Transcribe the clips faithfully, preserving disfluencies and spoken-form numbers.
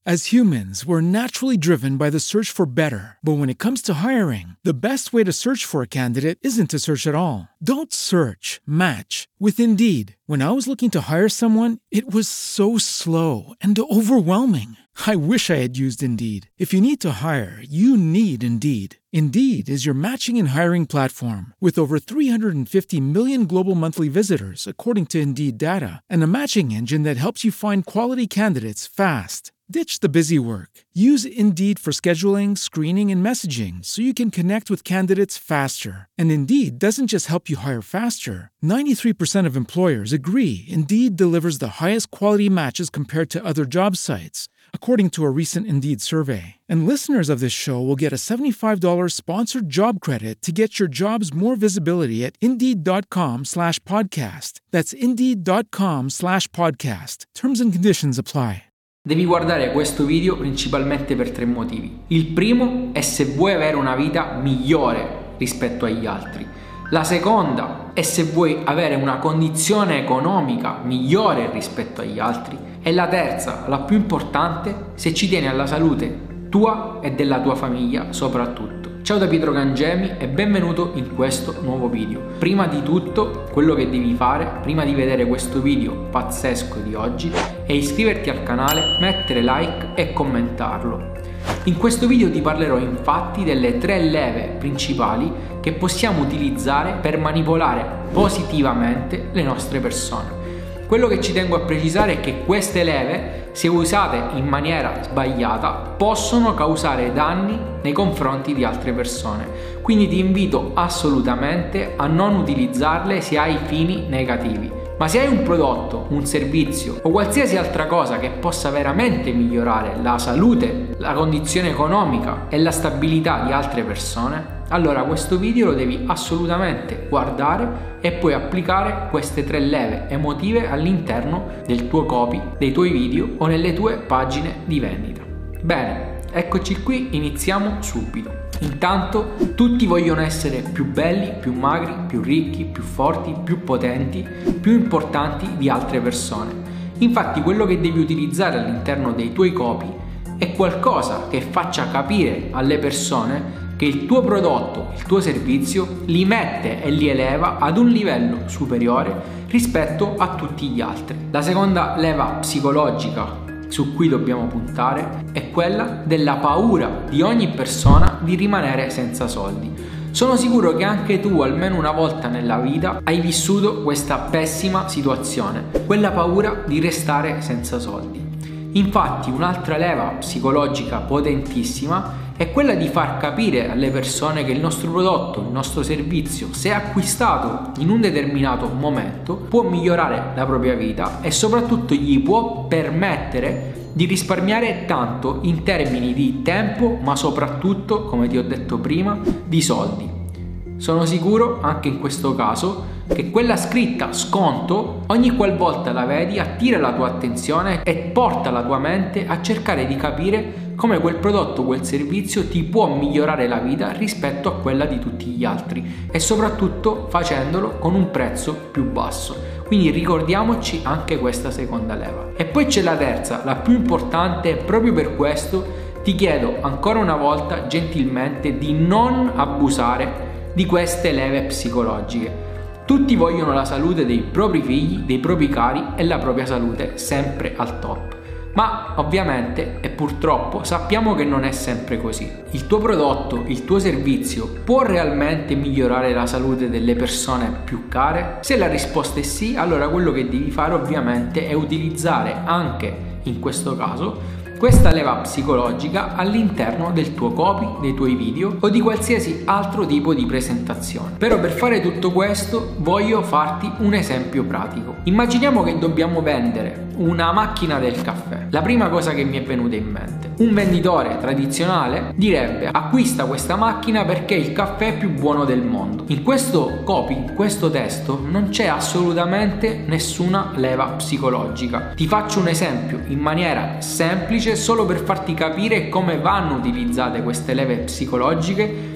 As humans, we're naturally driven by the search for better. But when it comes to hiring, the best way to search for a candidate isn't to search at all. Don't search, match with Indeed. When I was looking to hire someone, it was so slow and overwhelming. I wish I had used Indeed. If you need to hire, you need Indeed. Indeed is your matching and hiring platform with over three hundred fifty million global monthly visitors, according to Indeed data, and a matching engine that helps you find quality candidates fast. Ditch the busy work. Use Indeed for scheduling, screening, and messaging so you can connect with candidates faster. And Indeed doesn't just help you hire faster. ninety-three percent of employers agree Indeed delivers the highest quality matches compared to other job sites, according to a recent Indeed survey. And listeners of this show will get a seventy-five dollars sponsored job credit to get your jobs more visibility at Indeed.com slash podcast. That's Indeed.com slash podcast. Terms and conditions apply. Devi guardare questo video principalmente per tre motivi. Il primo è se vuoi avere una vita migliore rispetto agli altri. La seconda è se vuoi avere una condizione economica migliore rispetto agli altri. E la terza, la più importante, se ci tieni alla salute tua e della tua famiglia soprattutto. Ciao da Pietro Cangemi e benvenuto in questo nuovo video. Prima di tutto, quello che devi fare, prima di vedere questo video pazzesco di oggi, è iscriverti al canale, mettere like e commentarlo. In questo video ti parlerò infatti delle tre leve principali che possiamo utilizzare per manipolare positivamente le nostre persone. Quello che ci tengo a precisare è che queste leve, se usate in maniera sbagliata, possono causare danni nei confronti di altre persone. Quindi ti invito assolutamente a non utilizzarle se hai fini negativi. Ma se hai un prodotto, un servizio o qualsiasi altra cosa che possa veramente migliorare la salute, la condizione economica e la stabilità di altre persone, allora questo video lo devi assolutamente guardare e poi applicare queste tre leve emotive all'interno del tuo copy, dei tuoi video o nelle tue pagine di vendita. Bene, eccoci qui, iniziamo subito. Intanto tutti vogliono essere più belli, più magri, più ricchi, più forti, più potenti, più importanti di altre persone. Infatti quello che devi utilizzare all'interno dei tuoi copy è qualcosa che faccia capire alle persone che il tuo prodotto, il tuo servizio li mette e li eleva ad un livello superiore rispetto a tutti gli altri. La seconda leva psicologica su cui dobbiamo puntare è quella della paura di ogni persona di rimanere senza soldi. Sono sicuro che anche tu almeno una volta nella vita hai vissuto questa pessima situazione, quella paura di restare senza soldi. Infatti un'altra leva psicologica potentissima è quella di far capire alle persone che il nostro prodotto, il nostro servizio, se acquistato in un determinato momento, può migliorare la propria vita e soprattutto gli può permettere di risparmiare tanto in termini di tempo, ma soprattutto, come ti ho detto prima, di soldi. Sono sicuro, anche in questo caso, che quella scritta sconto, ogni qualvolta la vedi, attira la tua attenzione e porta la tua mente a cercare di capire come quel prodotto, quel servizio ti può migliorare la vita rispetto a quella di tutti gli altri e soprattutto facendolo con un prezzo più basso. Quindi ricordiamoci anche questa seconda leva. E poi c'è la terza, la più importante, e proprio per questo ti chiedo ancora una volta gentilmente di non abusare di queste leve psicologiche. Tutti vogliono la salute dei propri figli, dei propri cari e la propria salute sempre al top. Ma ovviamente e purtroppo sappiamo che non è sempre così. Il tuo prodotto, il tuo servizio può realmente migliorare la salute delle persone più care? Se la risposta è sì, allora quello che devi fare ovviamente è utilizzare anche in questo caso questa leva psicologica all'interno del tuo copy, dei tuoi video o di qualsiasi altro tipo di presentazione. Però per fare tutto questo voglio farti un esempio pratico. Immaginiamo che dobbiamo vendere una macchina del caffè. La prima cosa che mi è venuta in mente: un venditore tradizionale direbbe acquista questa macchina perché il caffè è più buono del mondo. In questo copy, in questo testo non c'è assolutamente nessuna leva psicologica. Ti faccio un esempio in maniera semplice solo per farti capire come vanno utilizzate queste leve psicologiche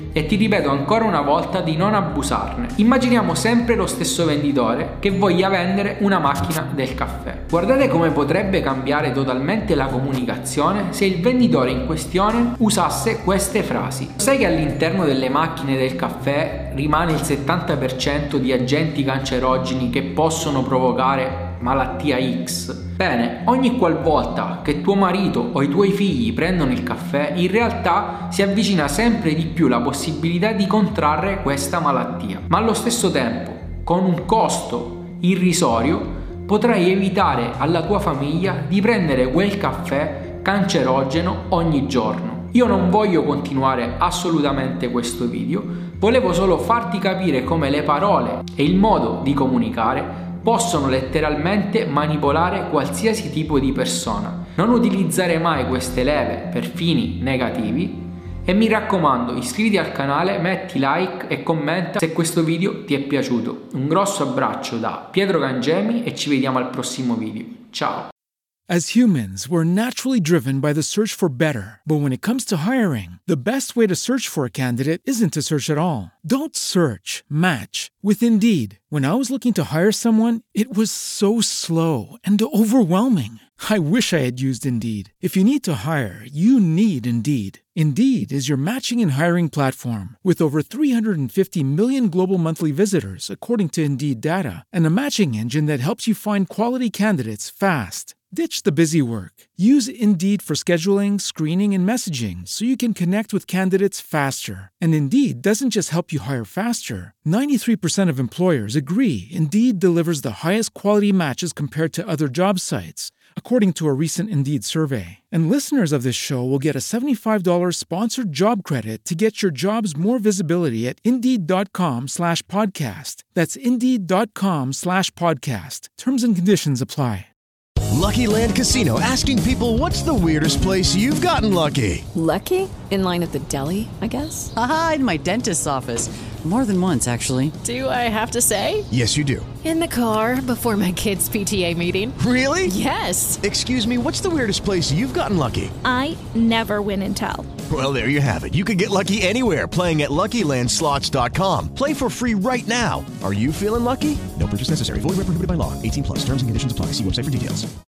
e ti ripeto ancora una volta di non abusarne. Immaginiamo sempre lo stesso venditore che voglia vendere una macchina del caffè. Guardate come potrebbe cambiare totalmente la comunicazione se il venditore in questione usasse queste frasi. Sai che all'interno delle macchine del caffè rimane il settanta per cento di agenti cancerogeni che possono provocare malattia X? Bene, ogni qualvolta che tuo marito o i tuoi figli prendono il caffè, in realtà si avvicina sempre di più la possibilità di contrarre questa malattia. Ma allo stesso tempo, con un costo irrisorio, potrai evitare alla tua famiglia di prendere quel caffè cancerogeno ogni giorno. Io non voglio continuare assolutamente questo video, volevo solo farti capire come le parole e il modo di comunicare possono letteralmente manipolare qualsiasi tipo di persona. Non utilizzare mai queste leve per fini negativi e mi raccomando, iscriviti al canale, metti like e commenta se questo video ti è piaciuto. Un grosso abbraccio da Pietro Cangemi e ci vediamo al prossimo video. Ciao! As humans, we're naturally driven by the search for better. But when it comes to hiring, the best way to search for a candidate isn't to search at all. Don't search, match with Indeed. When I was looking to hire someone, it was so slow and overwhelming. I wish I had used Indeed. If you need to hire, you need Indeed. Indeed is your matching and hiring platform with over three hundred fifty million global monthly visitors, according to Indeed data, and a matching engine that helps you find quality candidates fast. Ditch the busy work. Use Indeed for scheduling, screening, and messaging so you can connect with candidates faster. And Indeed doesn't just help you hire faster. ninety-three percent of employers agree Indeed delivers the highest quality matches compared to other job sites, according to a recent Indeed survey. And listeners of this show will get a seventy-five dollars sponsored job credit to get your jobs more visibility at Indeed.com slash podcast. That's Indeed.com slash podcast. Terms and conditions apply. Lucky Land Casino, asking people, what's the weirdest place you've gotten lucky? Lucky? In line at the deli, I guess? Aha, in my dentist's office. More than once, actually. Do I have to say? Yes, you do. In the car before my kids' P T A meeting. Really? Yes. Excuse me, what's the weirdest place you've gotten lucky? I never win and tell. Well, there you have it. You can get lucky anywhere, playing at Lucky Land Slots dot com. Play for free right now. Are you feeling lucky? No purchase necessary. Void where prohibited by law. eighteen plus. Terms and conditions apply. See website for details.